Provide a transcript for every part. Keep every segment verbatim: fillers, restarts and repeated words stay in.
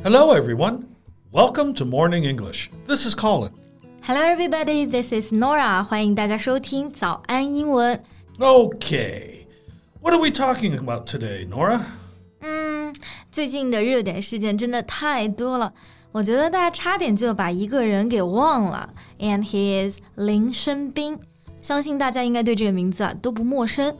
Hello, everyone. Welcome to Morning English. This is Colin. Hello, everybody. This is Nora. 欢迎大家收听早安英文。 Okay. What are we talking about today, Nora? 嗯，最近的热点事件真的太多了，我觉得大家差点就把一个人给忘了。And he is 林生斌，相信大家应该对这个名字啊都不陌生。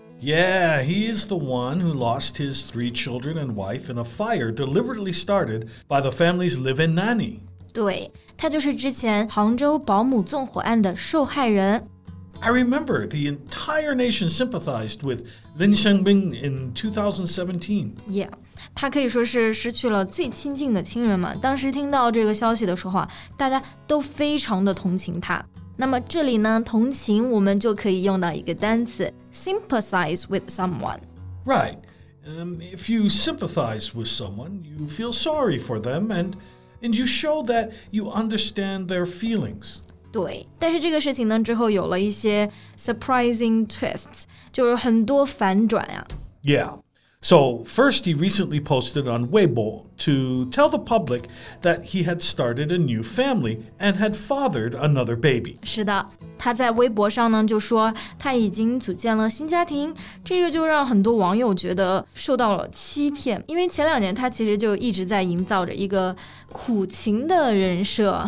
Yeah, he is the one who lost his three children and wife in a fire deliberately started by the family's live-in nanny. 对，他就是之前杭州保姆纵火案的受害人。 I remember the entire nation sympathized with Lin Shengbing in twenty seventeen. Yeah, 他可以说是失去了最亲近的亲人嘛。当时听到这个消息的时候啊，大家都非常的同情他。那么这里呢，同情我们就可以用到一个单词 sympathize with someone. Right. Um, if you sympathize with someone, you feel sorry for them and, and you show that you understand their feelings. 对，但是这个事情呢之后有了一些 surprising twists， 就是很多反转啊。 Yeah. So first he recently posted on Weibo to tell the public that he had started a new family and had fathered another baby. 是的，他在微博上呢就说他已经组建了新家庭，这个就让很多网友觉得受到了欺骗，因为前两年他其实就一直在营造着一个苦情的人设。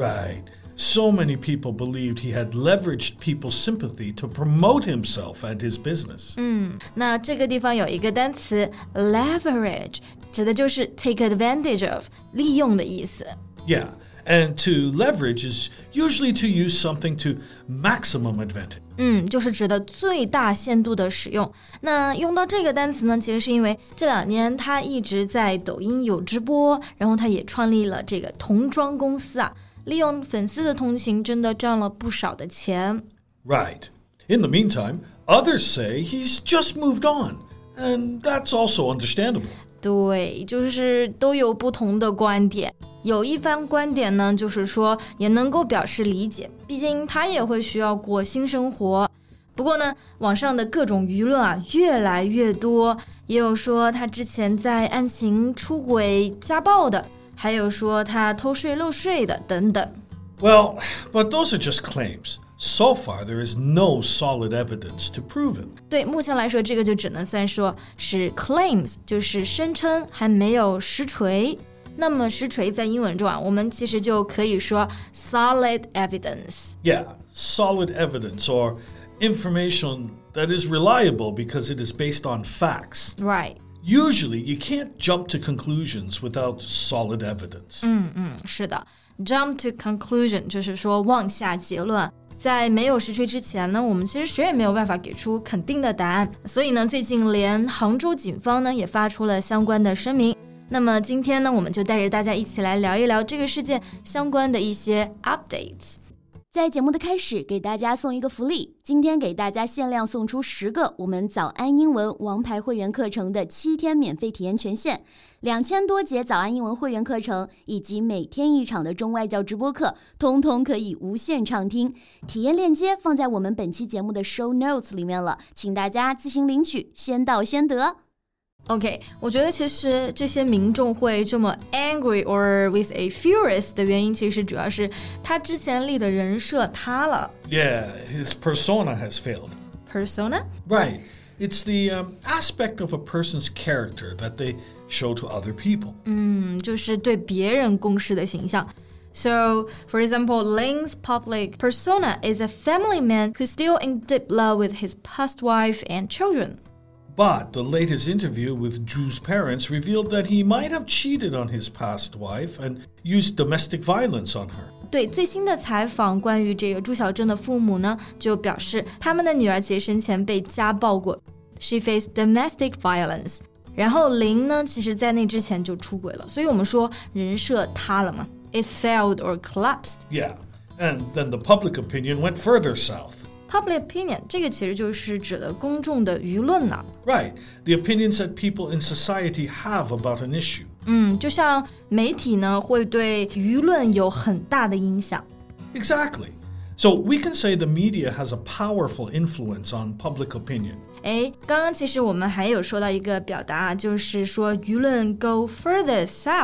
Right.So many people believed he had leveraged people's sympathy to promote himself and his business. 嗯，那这个地方有一个单词 leverage， 指的就是 take advantage of， 利用的意思。 Yeah, and to leverage is usually to use something to maximum advantage. 嗯，就是指的最大限度的使用。那用到这个单词呢，其实是因为这两年他一直在抖音有直播，然后他也创立了这个童装公司啊。利用粉丝的同情真的赚了不少的钱。 Right. In the meantime, others say he's just moved on, and that's also understandable. 对，就是都有不同的观点。有一番观点呢，就是说也能够表示理解，毕竟他也会需要过新生活。不过呢，网上的各种舆论啊越来越多，也有说他之前在案情出轨家暴的。还有说他偷税漏税的等等。 Well, but those are just claims. So far, there is no solid evidence to prove it. 对，目前来说，这个就只能算说是 claims， 就是声称，还没有实锤。那么实锤在英文中啊，我们其实就可以说 solid evidence. Yeah, solid evidence or information that is reliable because it is based on facts. Right.Usually, you can't jump to conclusions without solid evidence. 嗯嗯，是的 ，jump to conclusion 就是说妄下结论。在没有实锤之前呢，我们其实谁也没有办法给出肯定的答案。所以呢，最近连杭州警方呢也发出了相关的声明。那么今天呢，我们就带着大家一起来聊一聊这个事件相关的一些 updates。 在节目的开始，给大家送一个福利，今天给大家限量送出十个我们早安英文王牌会员课程的七天免费体验权限，两千多节早安英文会员课程以及每天一场的中外教直播课，通通可以无限畅听。体验链接放在我们本期节目的 show notes 里面了，请大家自行领取，先到先得。 OK， 我觉得其实这些民众会这么 angry or with a furious 的原因，其实主要是他之前立的人设塌了。 Yeah, his persona has failed. Persona? Right. It's the um, aspect of a person's character that they show to other people. 嗯，就是对别人公示的形象。So, for example, Ling's public persona is a family man who's still in deep love with his past wife and children.But the latest interview with Zhu's parents revealed that he might have cheated on his past wife and used domestic violence on her. 对，最新的采访关于这个朱小正的父母呢，就表示他们的女儿其实生前被家暴过 ，she faced domestic violence。然后林呢，其实在那之前就出轨了，所以我们说人设塌了嘛 ，it failed or collapsed. Yeah, and then the public opinion went further south.Public opinion 这个其实就是指的公众的舆论呢。 Right, the opinions that people in society have about an issue. 嗯，就像媒体呢会对舆论有很大的影响。 Exactly. So we can say the media has a powerful influence on public opinion. 诶，刚刚其实我们还有说到一个表达，就是说舆论 go further south。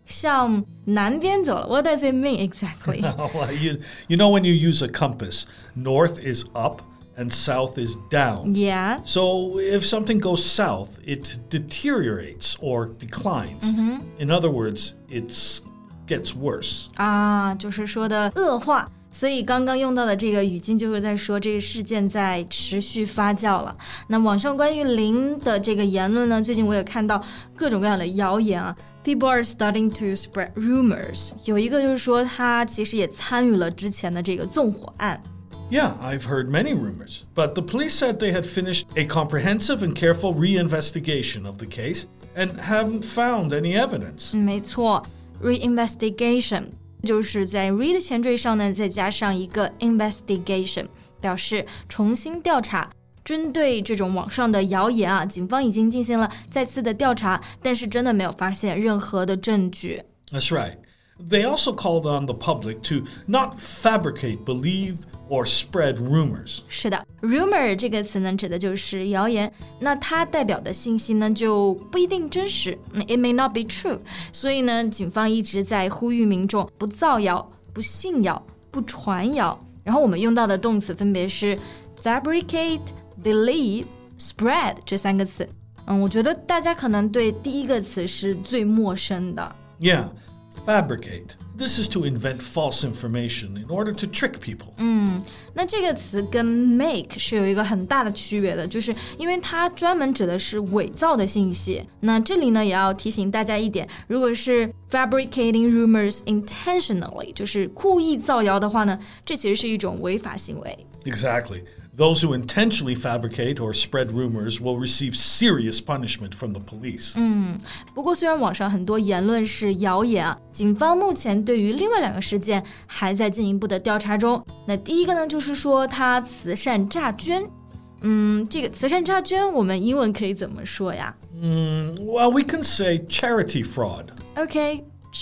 向南边走了。What does it mean exactly? well, you, you know when you use a compass, north is up and south is down. Yeah. So if something goes south, it deteriorates or declines. Mm-hmm. In other words, it gets worse. 啊，就是说的恶化。所以刚刚用到的这个语境就是在说这个事件在持续发酵了。那网上关于零的这个言论呢，最近我也看到各种各样的谣言啊。People are starting to spread rumors. 有一个就是说他其实也参与了之前的这个纵火案。 Yeah, I've heard many rumors, but the police said they had finished a comprehensive and careful reinvestigation of the case and haven't found any evidence. 没错 ，reinvestigation 就是在 read 前缀上呢再加上一个 investigation， 表示重新调查。针对这种网上的谣言啊，警方已经进行了再次的调查，但是真的没有发现任何的证据。 That's right. They also called on the public to not fabricate, believe, or spread rumors. 是的 rumor 这个词呢指的就是谣言，那它代表的信息呢就不一定真实 It may not be true. 所以呢警方一直在呼吁民众不造谣、不信谣、不传谣。然后我们用到的动词分别是 fabricate, believe, spread 这三个词。嗯，我觉得大家可能对第一个词是最陌生的。 Yeah, fabricate. This is to invent false information in order to trick people. 嗯，那这个词跟 make 是有一个很大的区别的，就是因为它专门指的是伪造的信息。那这里呢也要提醒大家一点，如果是 fabricating rumors intentionally 就是故意造谣的话呢，这其实是一种违法行为。 Exactly. Those who intentionally fabricate or spread rumors will receive serious punishment from the police. 嗯，不过虽然网上很多言论是谣言啊，警方目前对于另外两个事件还在进一步的调查中。那第一个呢，就是说他慈善诈捐。嗯，这个慈善诈捐我们英文可以怎么说呀？ Mm, well, we can say charity fraud. OK,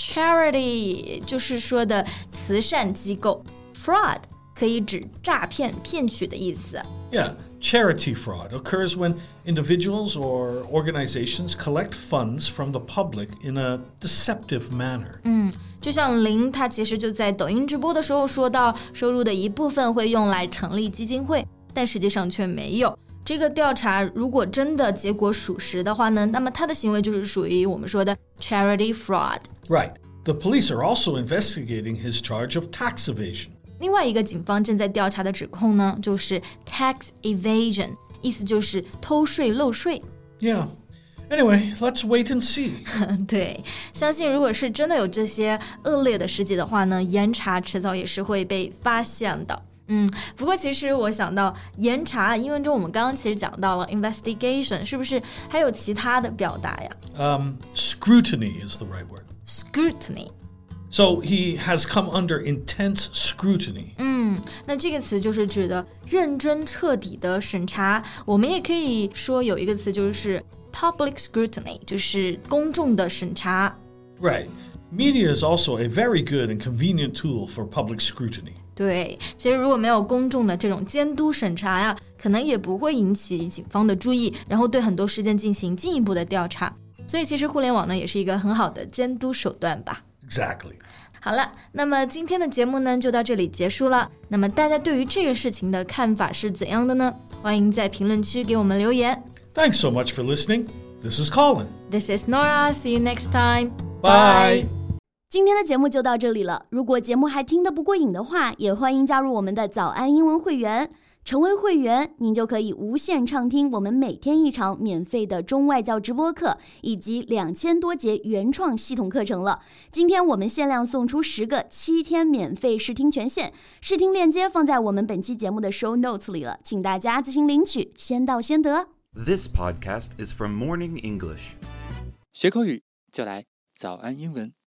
charity 就是说的慈善机构 ，fraud 可以指诈骗、骗取的意思。 Yeah, charity fraud occurs when individuals or organizations collect funds from the public in a deceptive manner. 嗯，就像林他其实就在抖音直播的时候说到，收入的一部分会用来成立基金会，但实际上却没有。这个调查如果真的结果属实的话呢，那么他的行为就是属于我们说的 charity fraud. Right. The police are also investigating his charge of tax evasion. 另外一个警方正在调查的指控呢，就是 tax evasion， 意思就是偷税漏税。 Yeah. Anyway, let's wait and see. 对，相信如果是真的有这些恶劣的事迹的话呢，严查迟早也是会被发现的。嗯，不过其实我想到严查，英文中我们刚刚其实讲到了 investigation， 是不是还有其他的表达呀？ Um, scrutiny is the right word. Scrutiny. So he has come under intense scrutiny. 嗯，那这个词就是指的认真彻底的审查。我们也可以说有一个词就是 public scrutiny， 就是公众的审查。 Right. Media is also a very good and convenient tool for public scrutiny. 对，其实如果没有公众的这种监督审查呀，可能也不会引起警方的注意，然后对很多事件进行进一步的调查。所以其实互联网呢也是一个很好的监督手段吧。 Exactly. 好了，那么今天的节目呢就到这里结束了。那么大家对于这个事情的看法是怎样的呢？欢迎在评论区给我们留言。 Thanks so much for listening. This is Colin. This is Nora. See you next time. Bye. 今天的节目就到这里了。如果节目还听得不过瘾的话，也欢迎加入我们的早安英文会员。成为会员，您就可以无限畅听我们每天一场免费的中外教直播课，以及两千多节原创系统课程了。今天我们限量送出十个七天免费试听权限，试听链接放在我们本期节目的 show notes 里了，请大家自行领取，先到先得。 This podcast is from Morning English. 学口语就来早安英文。